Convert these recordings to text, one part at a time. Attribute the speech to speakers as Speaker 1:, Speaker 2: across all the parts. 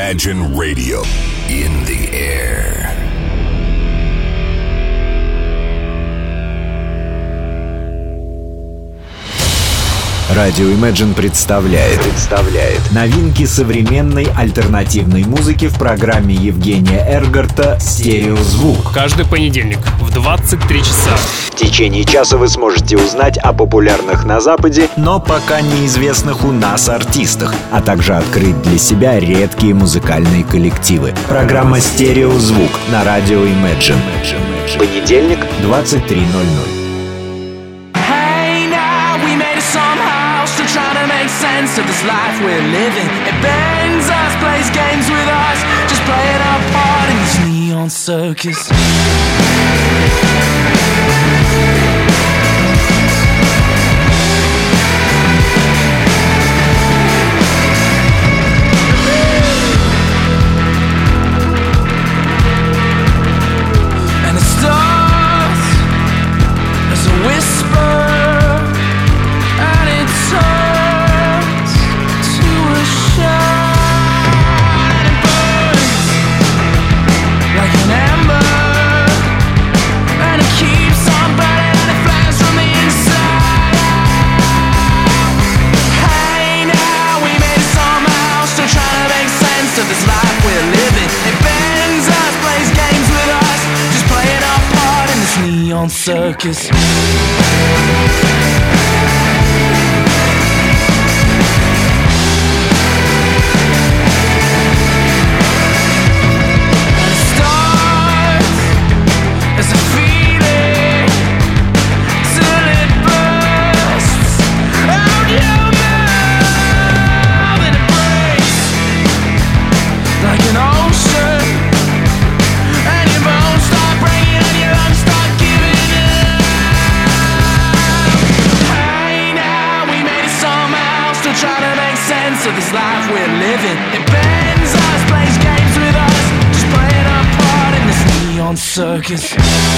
Speaker 1: Imagine Radio in the air.
Speaker 2: Радио Imagine представляет новинки современной альтернативной музыки в программе Евгения Эргарта «Стереозвук».
Speaker 3: Каждый понедельник в 23 часа.
Speaker 2: В течение часа вы сможете узнать о популярных на Западе, но пока неизвестных у нас артистах, а также открыть для себя редкие музыкальные коллективы. Программа «Стереозвук» на радио Imagine. Понедельник, 23:00.
Speaker 4: Trying to make sense of this life we're living. It bends us, plays games with us, just playing our part in this neon circus. And it starts as a whisper. Circus. Of this life we're living, it bends us, plays games with us, just playing our part in this neon circus.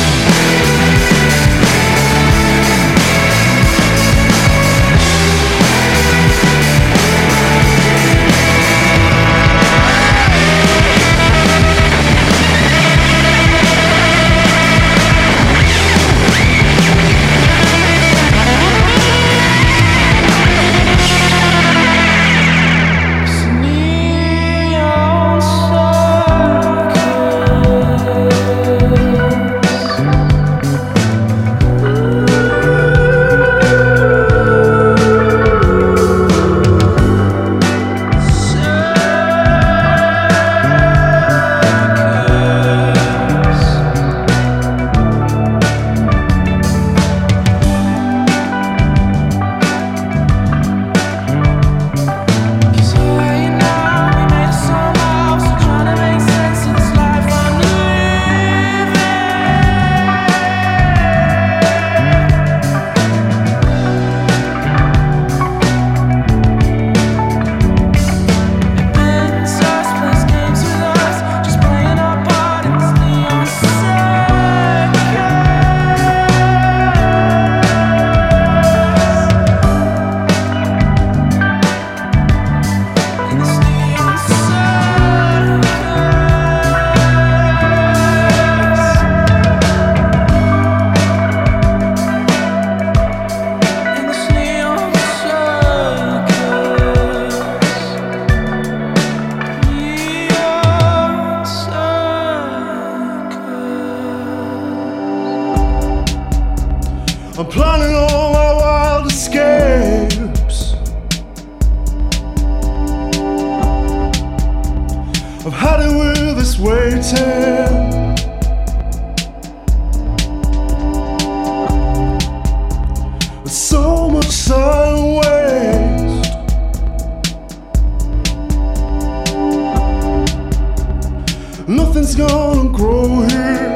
Speaker 5: I'm planning all my wild escapes. I've had it with this waiting. With so much time waste. Nothing's gonna grow here.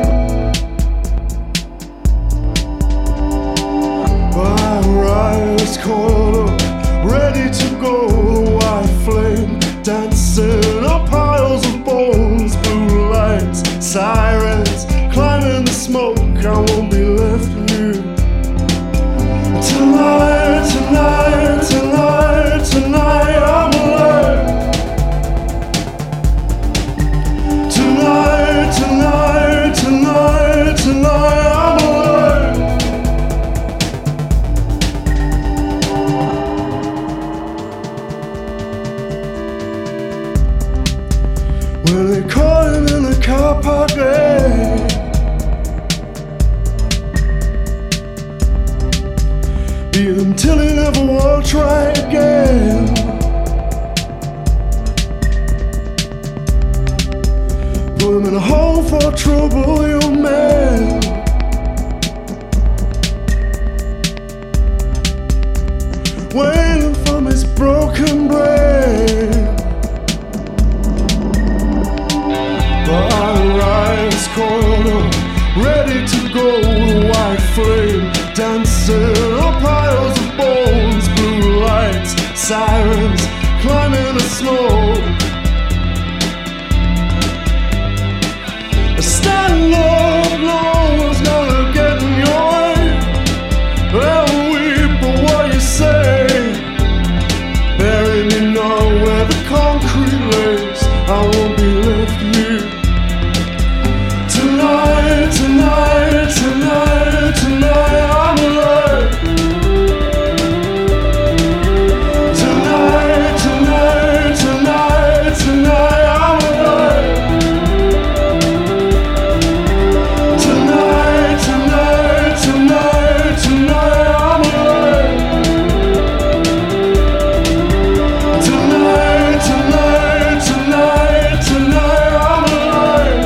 Speaker 5: Rise caught up, ready to go. The white flame dancing on piles of bones, blue lights, sirens, climbing the smoke. I won't be left here. Tonight, tonight, tonight, tonight, I'm alive. Be until he never will try again. Put him in a hole for trouble, young man. Waiting from his broken brain. But our eyes coiled up, ready to go, the white flame dancing on piles of bones, blue lights, sirens climbing the smoke. Stand up, no one's gonna get in your way. I'll weep for what you say. Bury me now where the concrete lays. I won't be left here. Tonight, tonight, tonight, tonight I'm alive. Tonight, tonight, tonight, tonight I'm alive. Tonight, tonight, tonight, tonight I'm alive. Tonight, tonight, tonight, tonight I'm alive.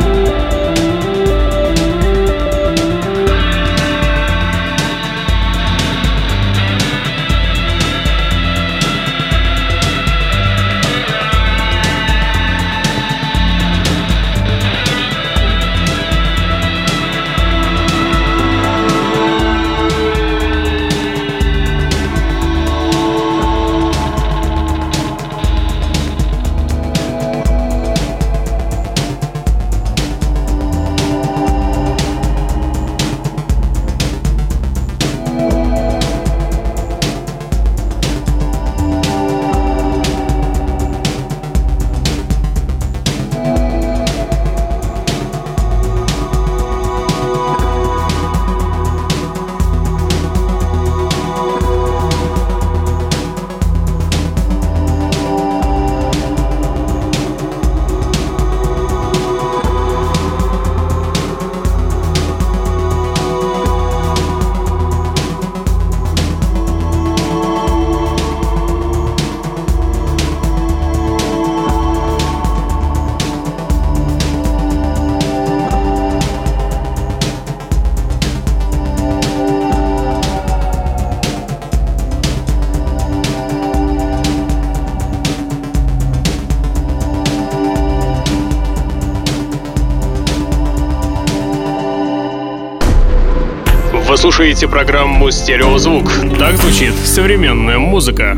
Speaker 3: Вы слушаете программу «Стереозвук». Так звучит современная музыка.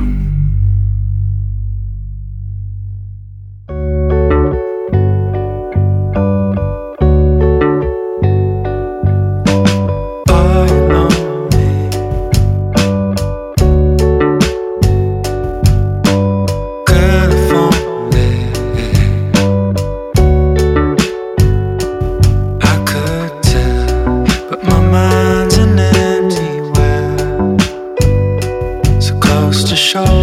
Speaker 6: Mind's an empty well, so close to shore.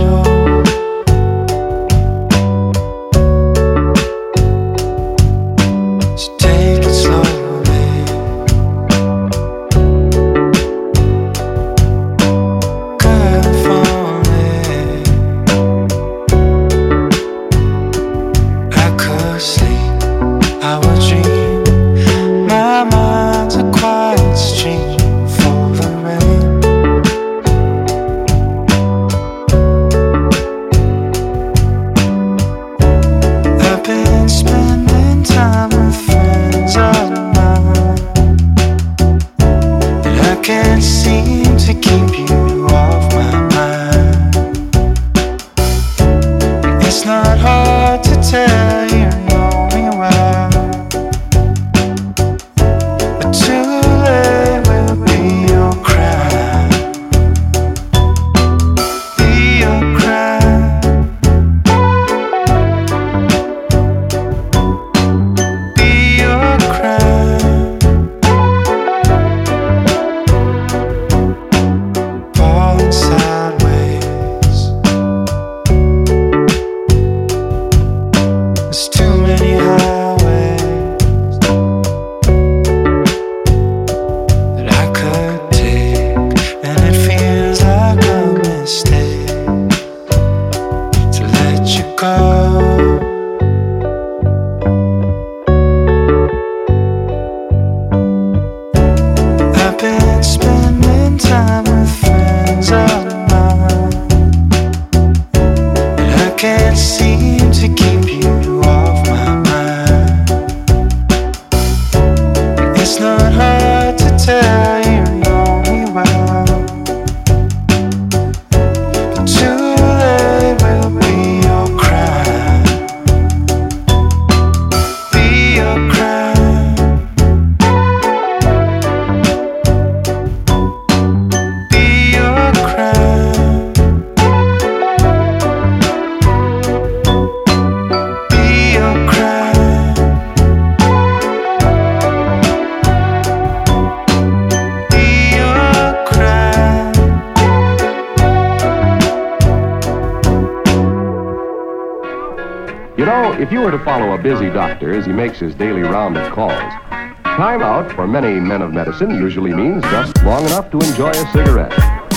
Speaker 6: If you were to follow a busy doctor as he makes his daily round of calls, time out for many men of medicine usually means just long enough to enjoy a cigarette.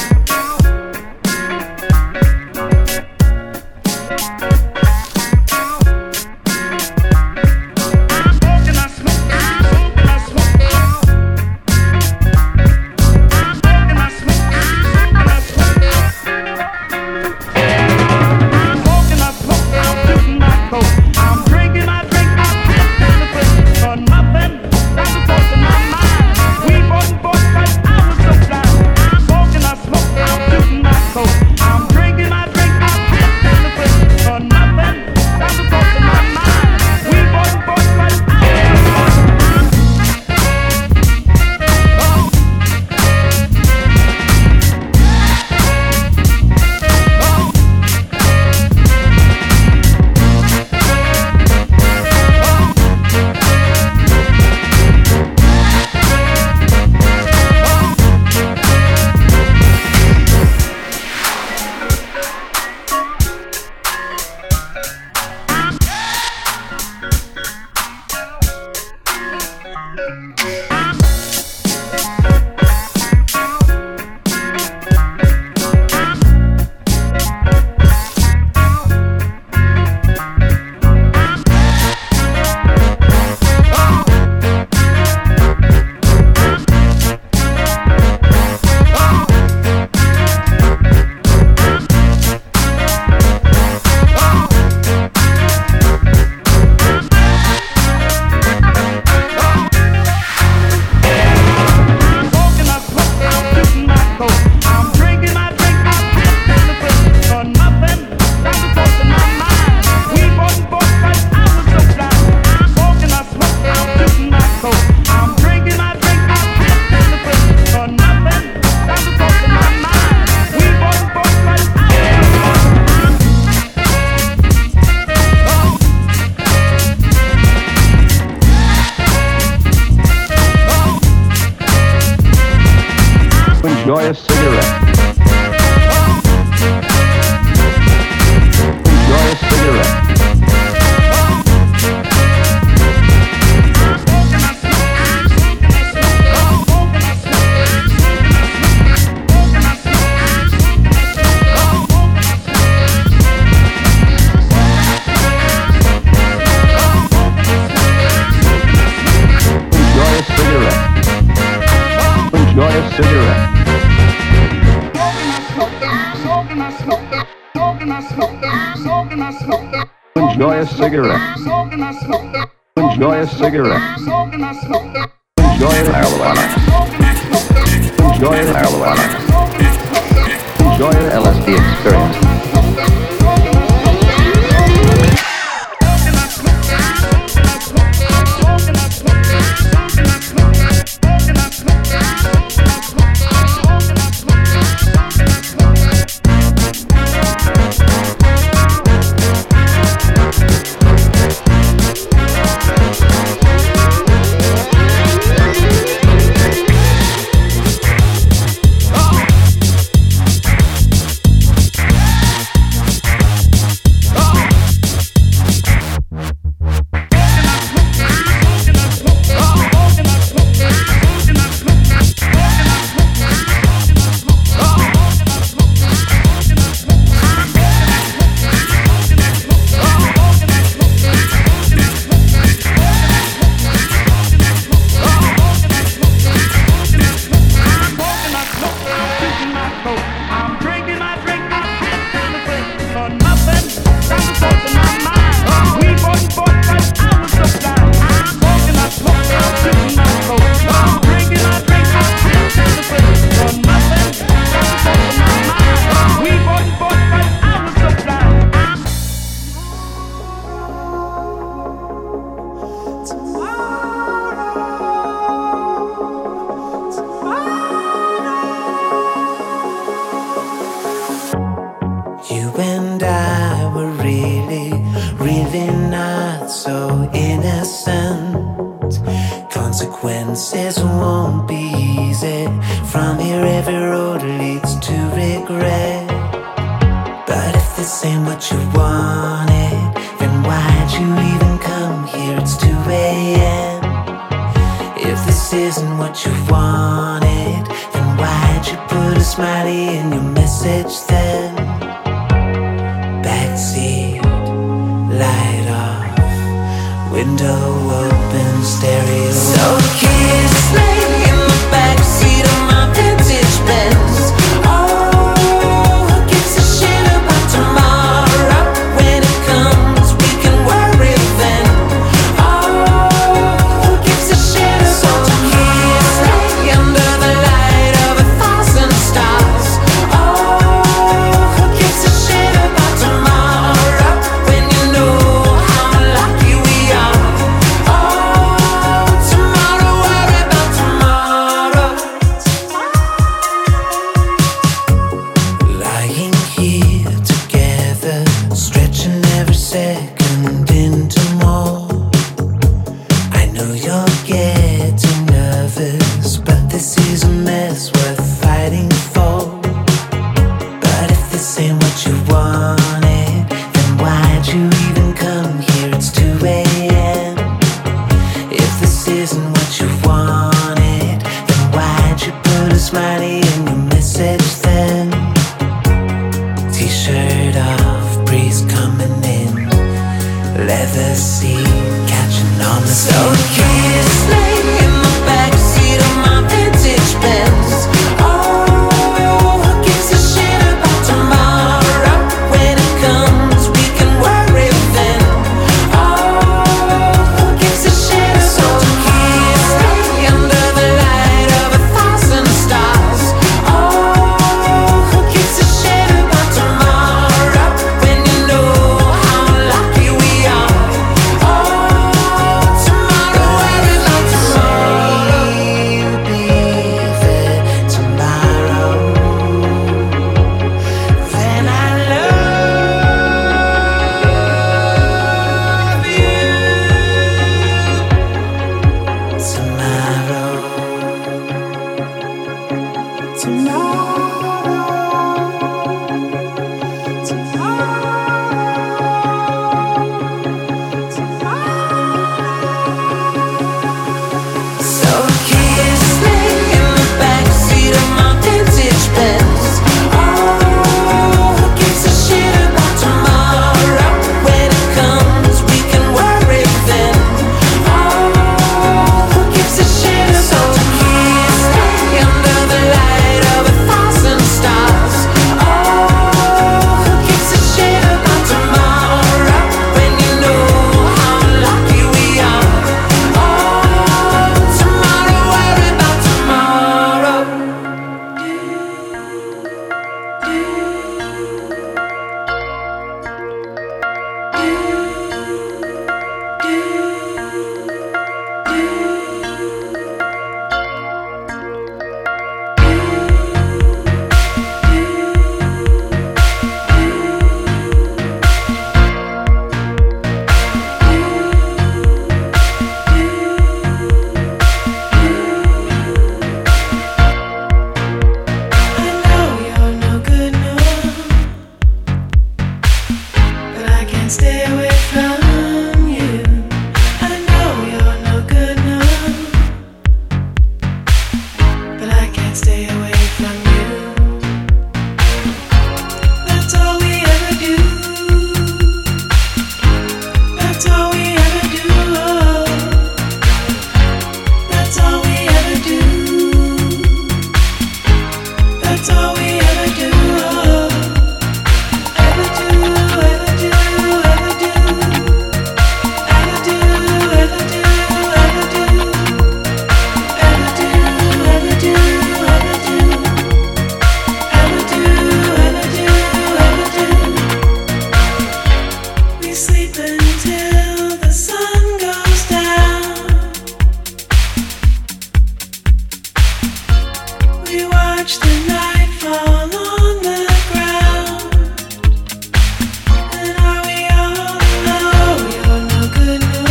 Speaker 6: Enjoy a cigarette. Enjoy a cigarette. Enjoy a cigarette. Enjoy a cigarette. Enjoy a cigarette. Enjoy marijuana. Enjoy marijuana. Enjoy an LSD experience.
Speaker 7: Consequences won't be easy. From here every road leads to regret. But if this ain't what you wanted, then why'd you what you wanted, then why'd you put a smiley in your message then? Backseat, light off, window open, stereo. So kiss me in the backseat of my vintage Benz. Oh, who gives a shit about tomorrow? When it comes, we can worry then. Oh, who gives a shit about tomorrow? Kiss me under the light of 1,000 stars. Oh, who gives a shit about tomorrow? When you know how lucky we are. Oh, tomorrow, worry about tomorrow. Lying here together, stretching every second into more. I know you're getting nervous, but this is a mess worth fighting for. But if this ain't what you wanted, then why'd you even come here? It's 2 a.m. If this isn't what you wanted, then why'd you put a smiley in your message then? T-shirt off, breeze coming in, leather seat catching on the skin. So kiss me in the backseat of my vintage Benz. Oh, who gives a shit about tomorrow? When it comes, we can worry then. Oh, who gives a shit about tomorrow? Kiss me under the light of 1,000 stars. Oh, who gives a shit about tomorrow? When you know how lucky we are. Oh, tomorrow, worry about tomorrow. You'll be there tomorrow. Then I love you tomorrow. So kiss me in the backseat of my vintage Benz. Oh, who gives a shit about tomorrow? When it comes, we can worry then. Oh, who gives a shit about tomorrow? Kiss me under the light of 1,000 stars. Oh, who gives a shit about tomorrow? When you know how lucky we are. Oh, tomorrow, worry about tomorrow. I know you're no good, no, but I can't stay away from you. I know you're no good, no, but I can't stay away from you. That's all we ever do. That's all we ever do. That's all we ever do. That's all we ever do. Ever do, ever do, ever do. Ever do, ever do, ever do. Ever do, ever do, ever do. Ever do, ever do, ever do. We sleep until the sun goes down. We watch the night fall on the ground. And are we all alone? You're no good, no,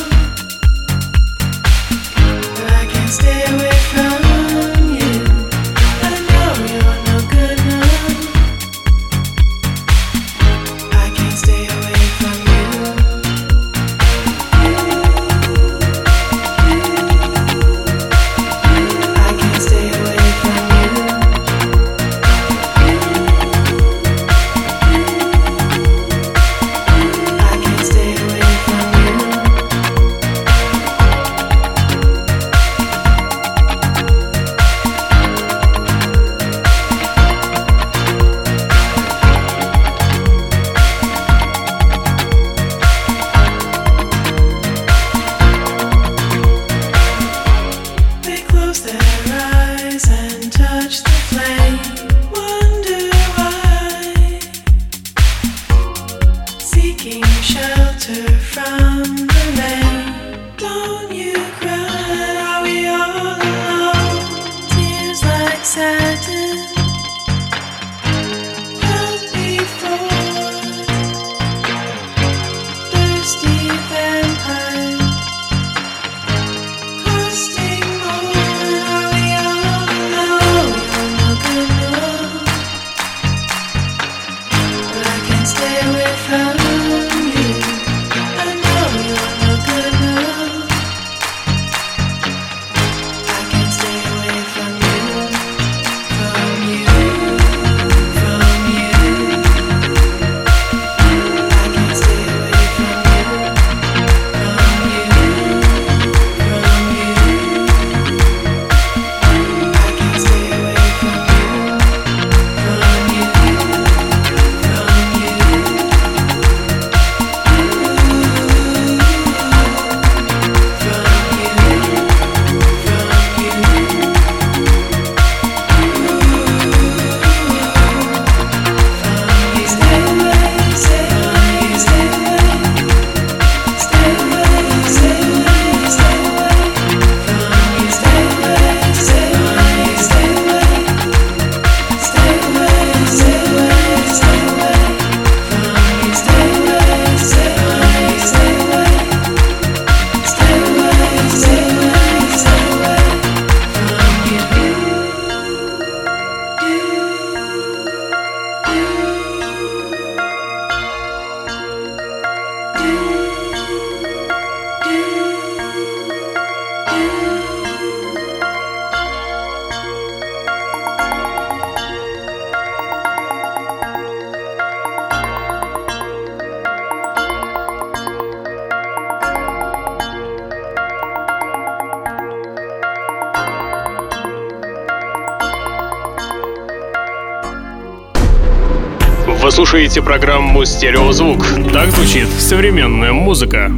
Speaker 7: but I can't stay away from you. I know you're no good, no, I can't stay away from you. You
Speaker 3: Вы слушаете программу «Стереозвук». Так звучит современная музыка.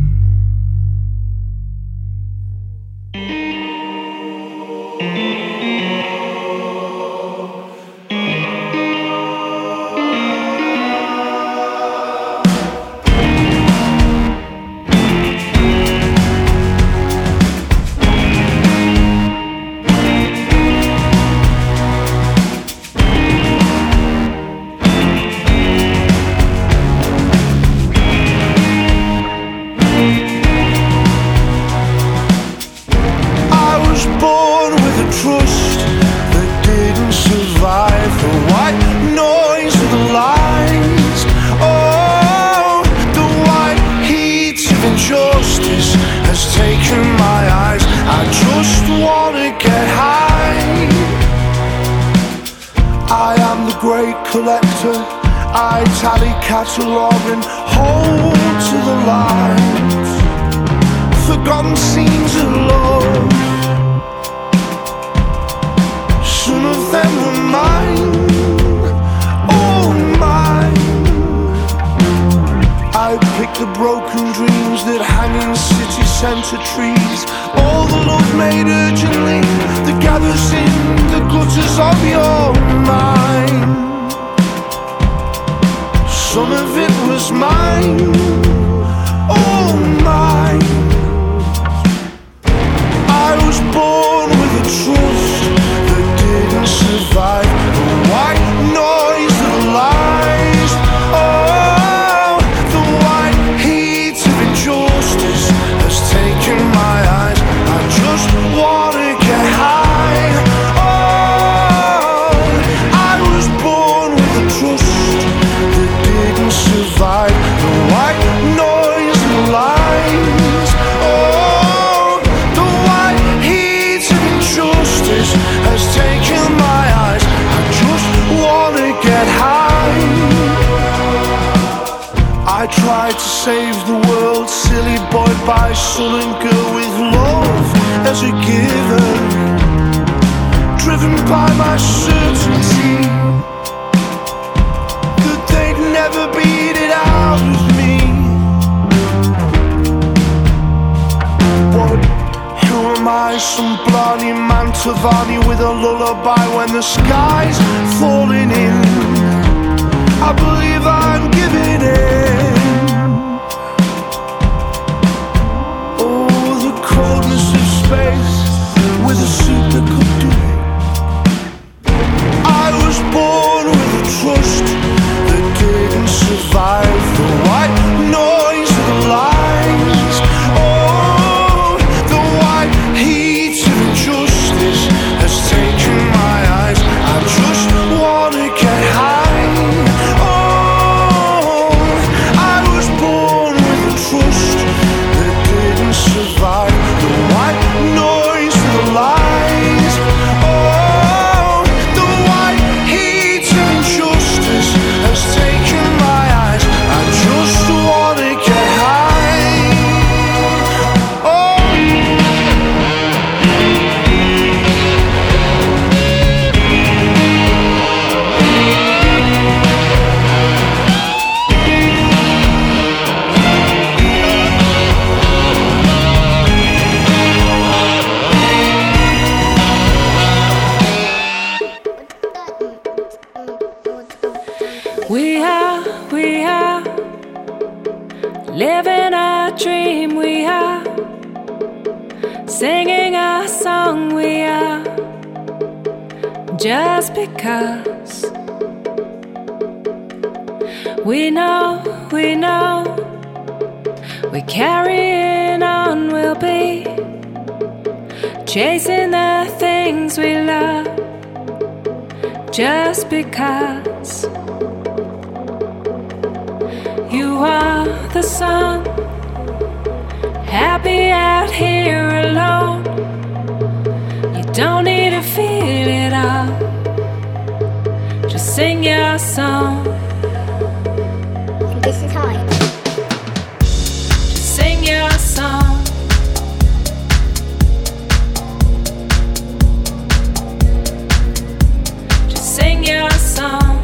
Speaker 5: I tally, catalogue and hold to the lines. Forgotten scenes of love, some of them were mine, all mine. I pick the broken dreams that hang in city centre trees, all the love made urgently that gathers in the gutters of your mind. Some of it was mine, all mine. I was born with a trust that didn't survive the white noise of lies. Oh, the white heat of injustice has taken my eyes. I just wanna get high. Oh, I was born with a trust that didn't survive the white noise and lies. Oh, the white heat of injustice has taken my eyes. I just wanna get high. I tried to save the world, silly boy by son and girl, with love as a giver, driven by my certainty never beat it out with me. What? Who am I some blarney Mantovani with a lullaby when the sky's falling in. I believe I'm giving in. Oh, the coldness of space with a suit that could do it. I was born with a trust that didn't survive the white noise of the lines. Oh, the white heat of injustice has taken my eyes. I just wanna get high. Oh, I was born with a trust that didn't survive the white noise of the lines. Oh, the white heat of injustice has taken my eyes. I just wanna get high. Oh.
Speaker 8: We are living a dream. We are singing a song. We are just because we know we're carrying on. We'll be chasing the things we love just because. You are the sun, happy out here alone. You don't need to feel it all, just sing your song.
Speaker 9: This is high.
Speaker 8: Just sing your song. Just sing your song.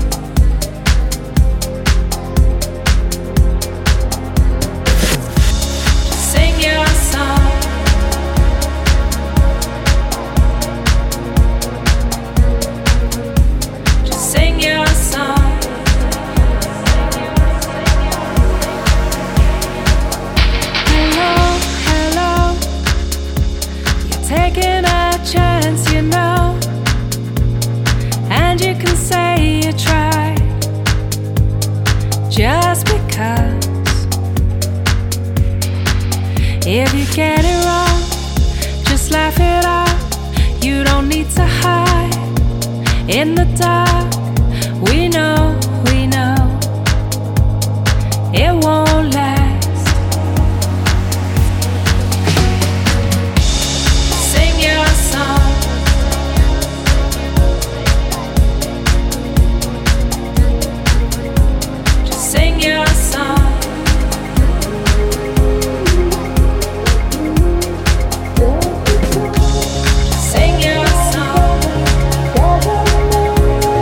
Speaker 8: Taking a chance, you know, and you can say you tried just because. If you get it wrong, just laugh it off. You don't need to hide in the dark. We know it won't last.
Speaker 5: Oh.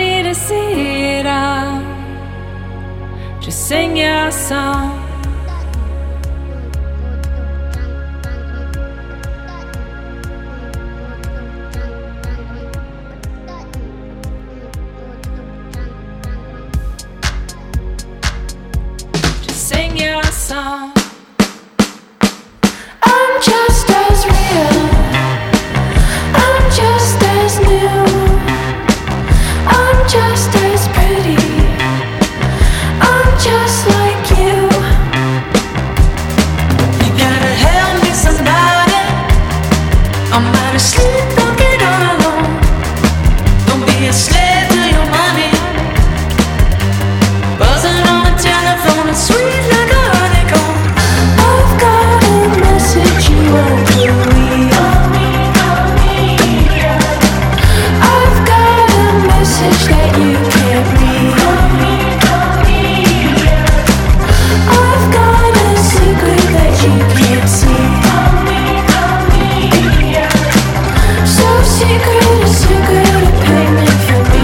Speaker 8: me to see it all. Just sing your song. Just sing your song. I'm just as real. I'm just as new. I'm just as pretty. I'm just like you. You gotta help me, somebody. I'm out of sleep, don't get all alone. Don't be a slave to your money. Buzzing on the telephone, it's sweet like a honeycomb. I've got a message you won't believe. I've got a message that you can't read. I've got a secret that you can't see. So secret, a secret, a payment for me.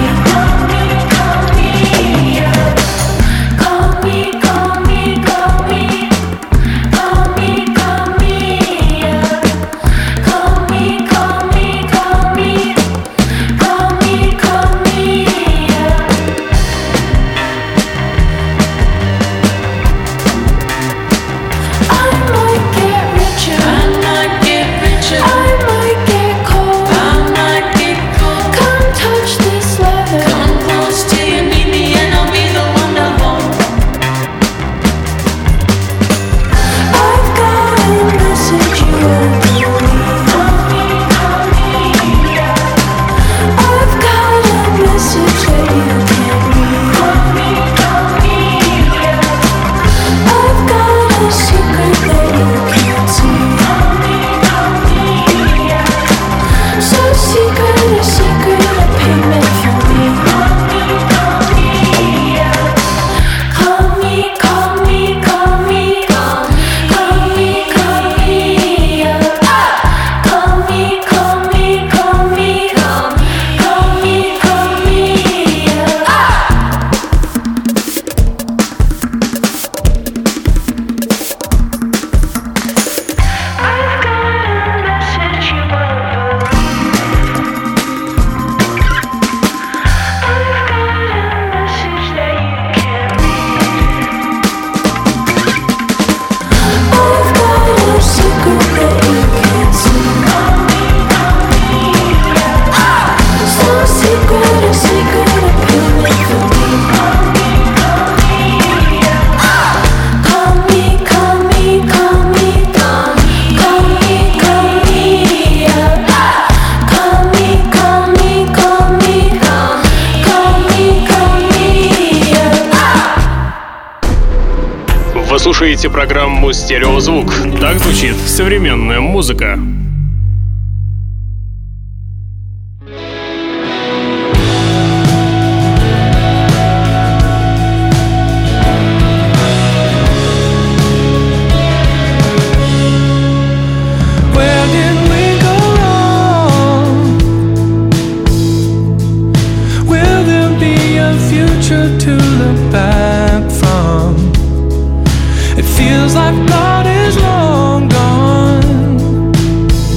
Speaker 8: Call me, call me, call me. Call me, call me, yeah. Call me, call me, call me. Call me, call me, yeah. I might get richer. I might get richer. I might get cold. I might get cold. Come touch this leather. Come close till you need me, and I'll be the one to hold. I've got a message you won't believe. I've got a message that you can't read. I've got a secret that you can't see. So secret, a secret, a payment for me. Call me, call me, call me. Call me, call me, yeah. Call me, call me, call me. Call me, call me, yeah. I've got a message you won't believe. I've got a message that you can't read. I've got a secret that you can't see. So secret, a secret, a payment for me. Call me, call me, call me. Call me, call me, yeah. Call me, call me, call me. Call me, call me, yeah.
Speaker 3: Вы слушаете программу «Стереозвук». Так звучит современная музыка.
Speaker 4: Where did we go wrong? Will there be a future to look back from? It feels like God is long gone.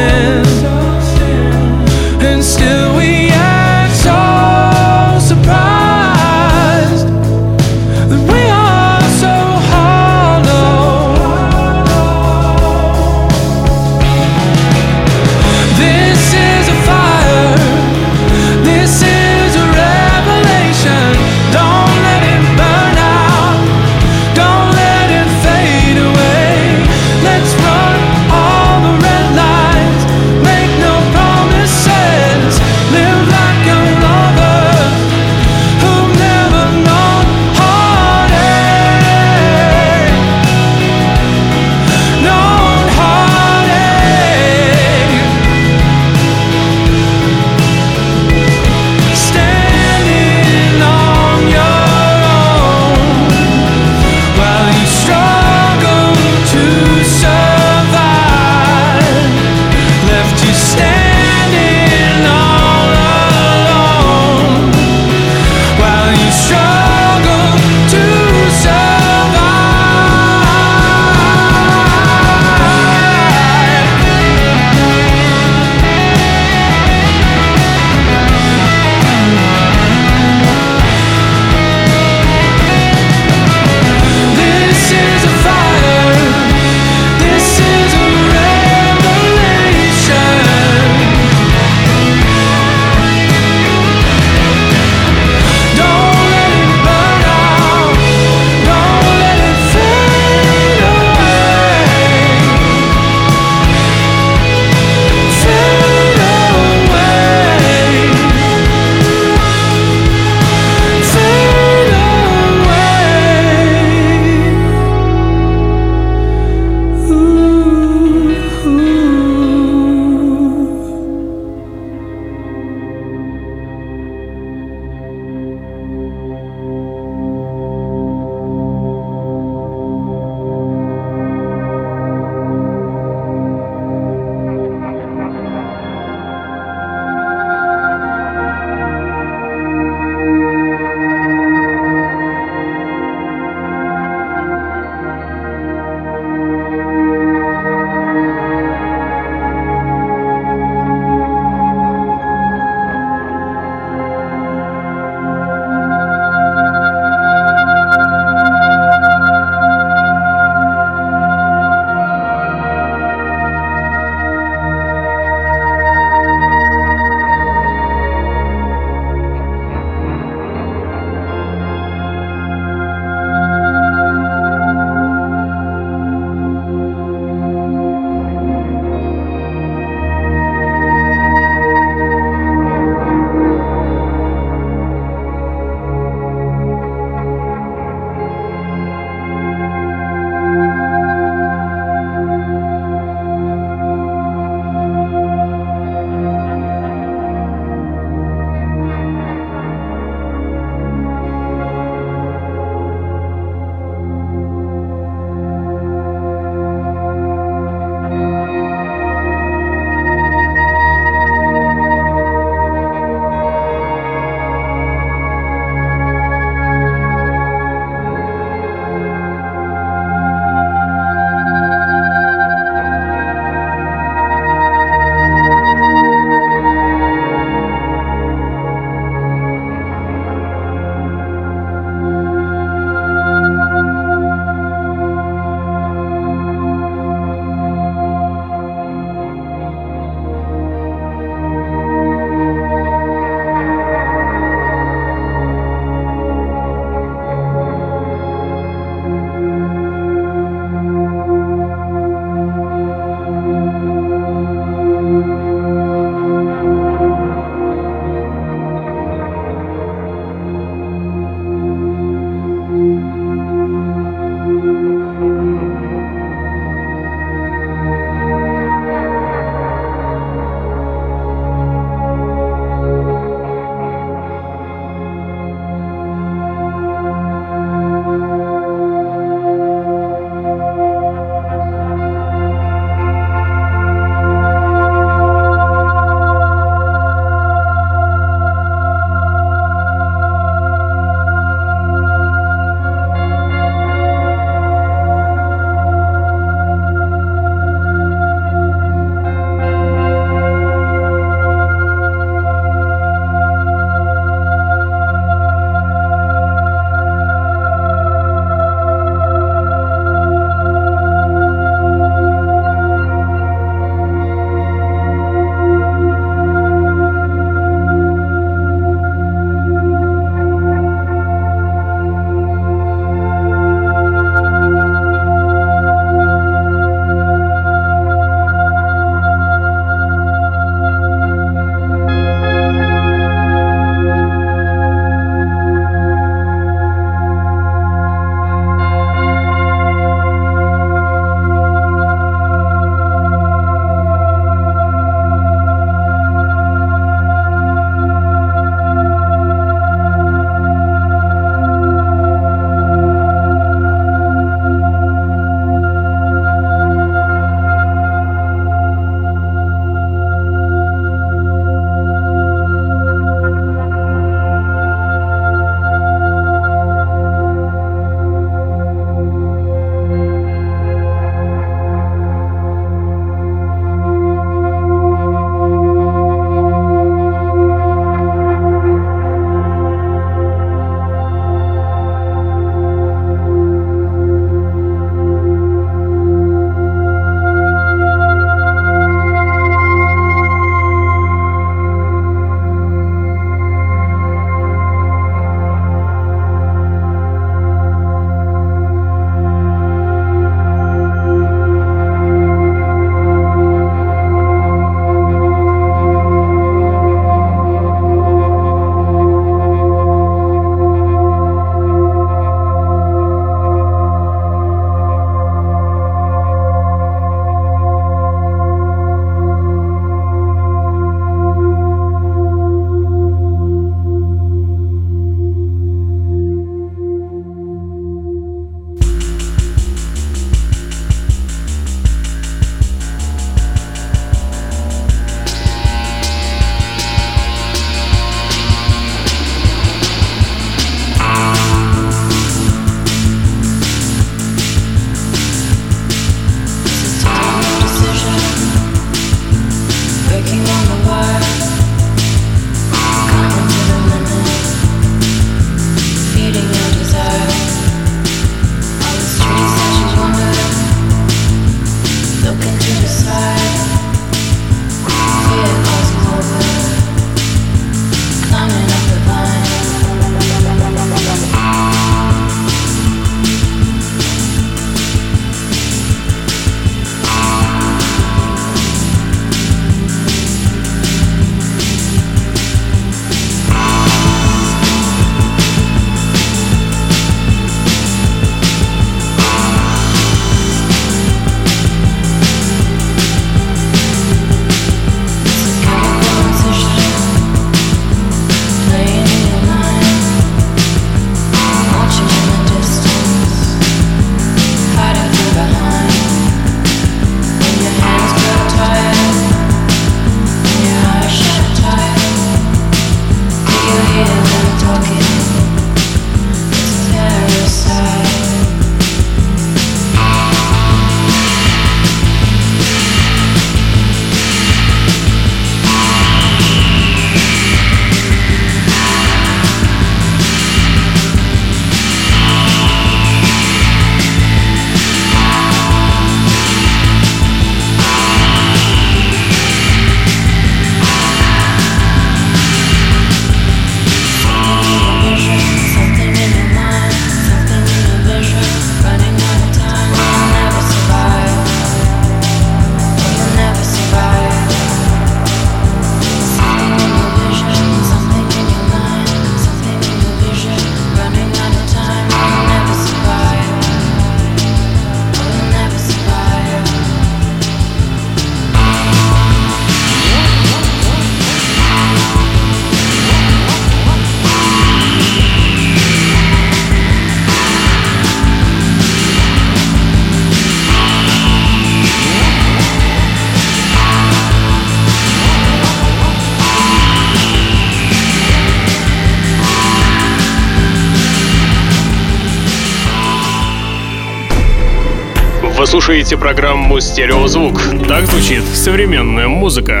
Speaker 3: Вы слушаете программу «Стереозвук». Так звучит современная музыка.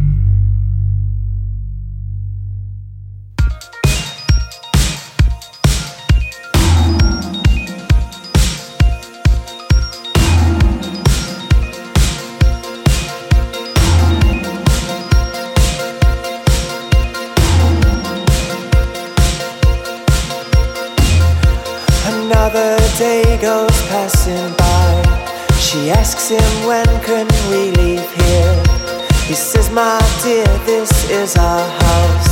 Speaker 7: Another day goes passing by. She asks him, when can we leave here? He says, my dear, this is our house.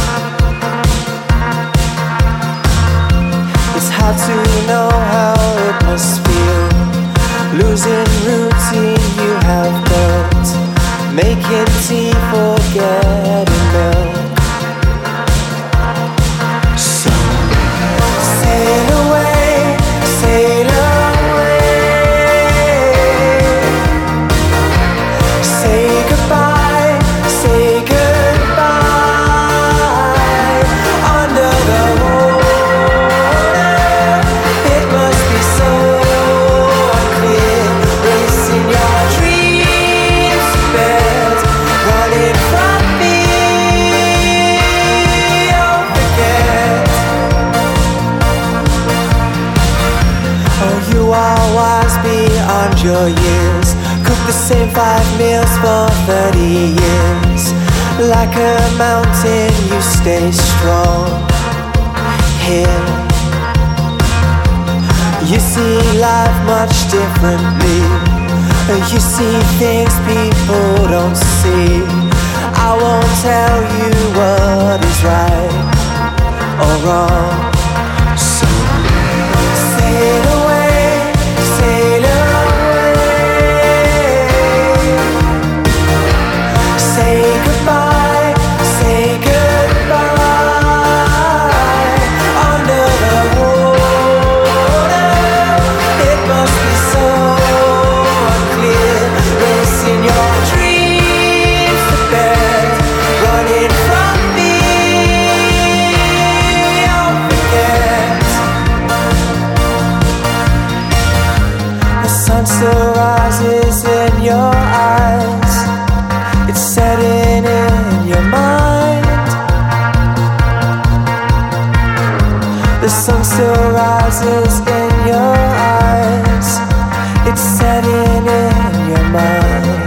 Speaker 7: It's hard to know how it must feel, losing routine you have built, making tea, forgetting milk. So sail away, sail away. Say goodbye, say goodbye. Under the water, it must be so unclear. Racing your dreams to bed, running from me. Don't forget. Oh, you are wise beyond your years. Cook the same 5 meals for 30 years. Like a mountain, you stay strong. Here, you see life much differently. You see things people don't see. I won't tell you what is right or wrong. So sail away, sail away. Say goodbye, say goodbye. Under the water, it must be so unclear. Racing your dreams to bed, running from me. Don't forget. The sun still rises in your eyes. It's setting in your mind. The sun still rises in your eyes. It's setting in your mind.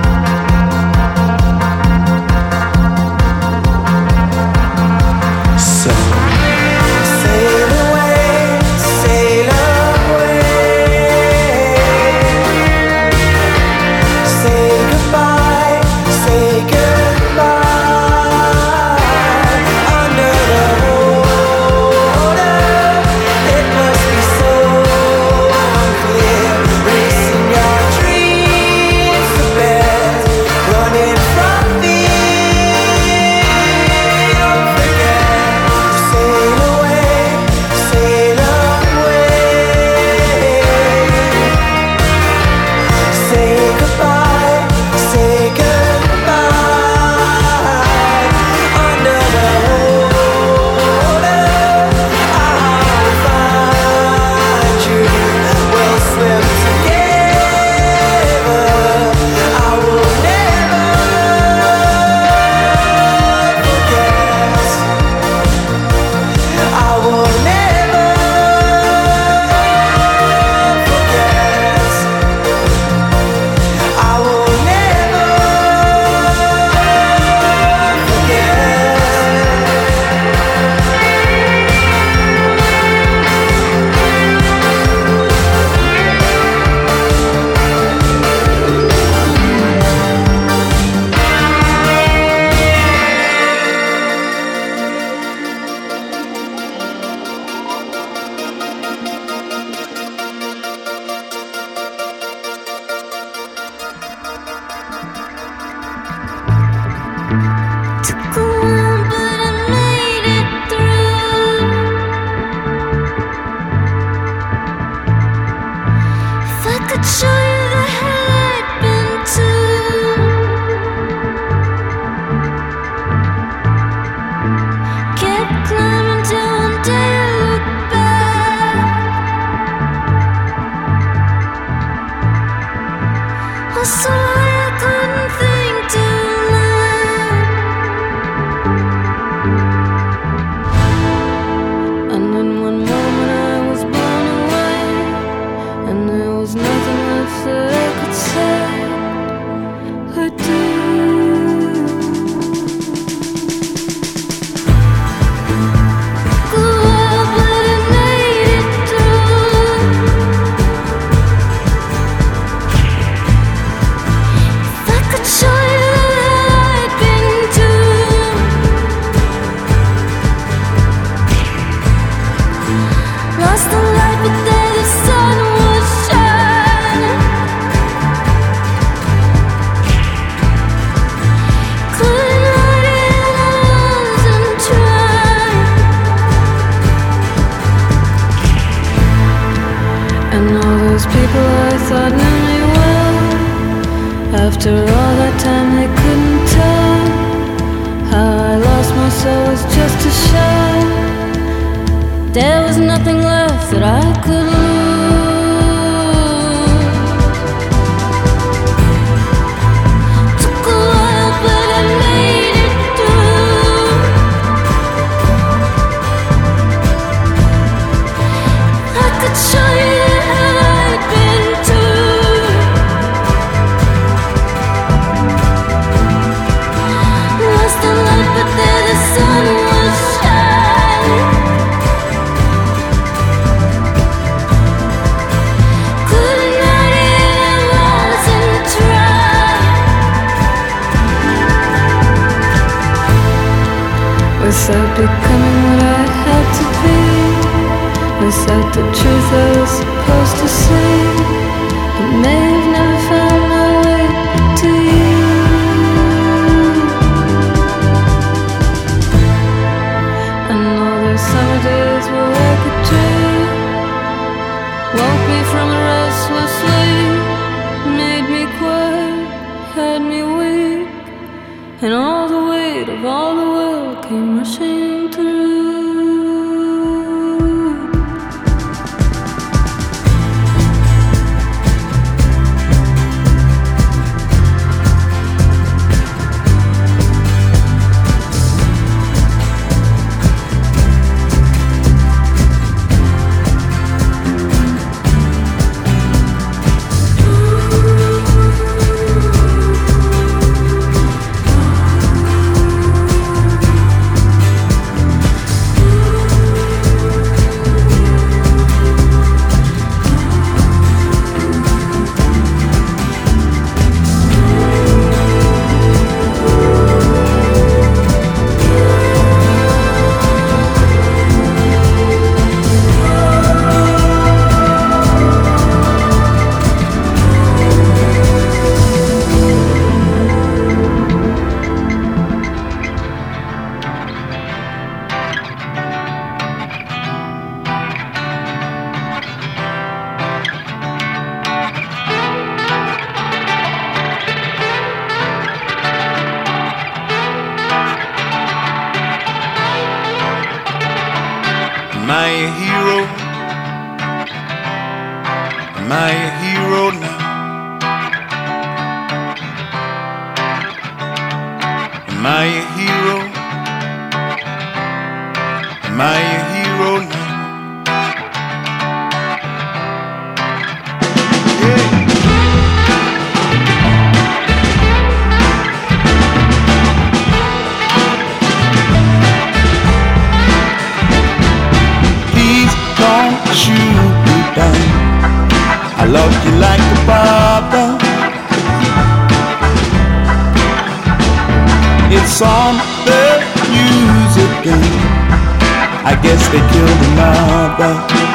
Speaker 7: So sail away, sail away. Say goodbye, say goodbye. Under the water, it must be so
Speaker 8: After all that time they couldn't tell how I lost my soul was just a shell. There was nothing left that I could lose. Took a while but I made it through. I could show you that I'd been too. Lost the light but there the sun was shining. Couldn't hide it, I wasn't trying. Without becoming what I had to be, without the truth I was supposed to see, I may have never found my way to you. I know those summer days were like a dream, woke me from a restless sleep, made me quiet, had me weak, and all the weight of all the world came rushing through.
Speaker 9: Am I a hero? Am I a hero now? Am I a hero? Am I a hero now? Shoot me down. I love you like a papa. It's on the news again. I guess they killed the mother.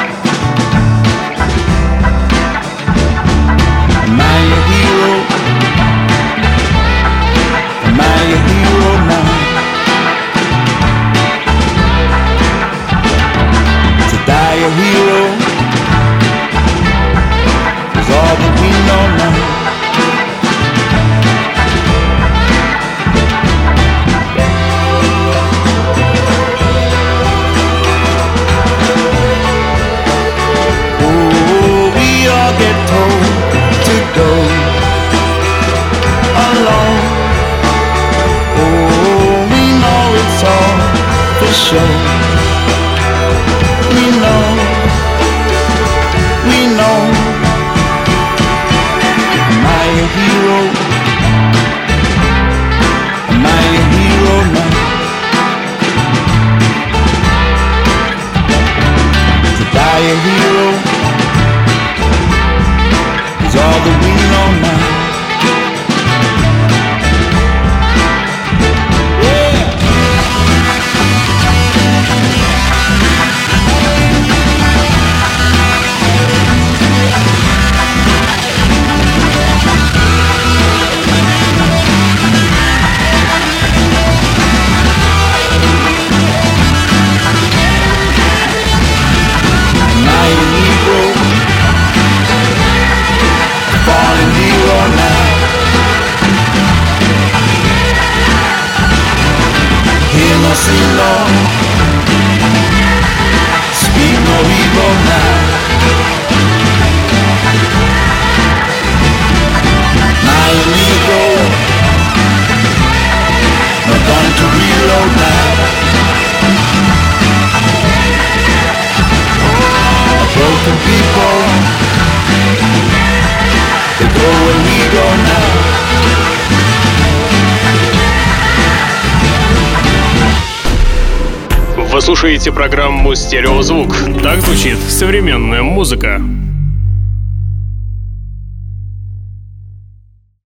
Speaker 9: Am I a hero? Am I a hero now? Die a hero is all that we know now. Oh, we all get told to go alone. Oh, we know it's all for show. We know, we know. Am I a hero? Am I a hero now? To die a hero is all that we know now. Oh, where we go now?
Speaker 3: Вы слушаете программу «Стереозвук». Так звучит современная музыка.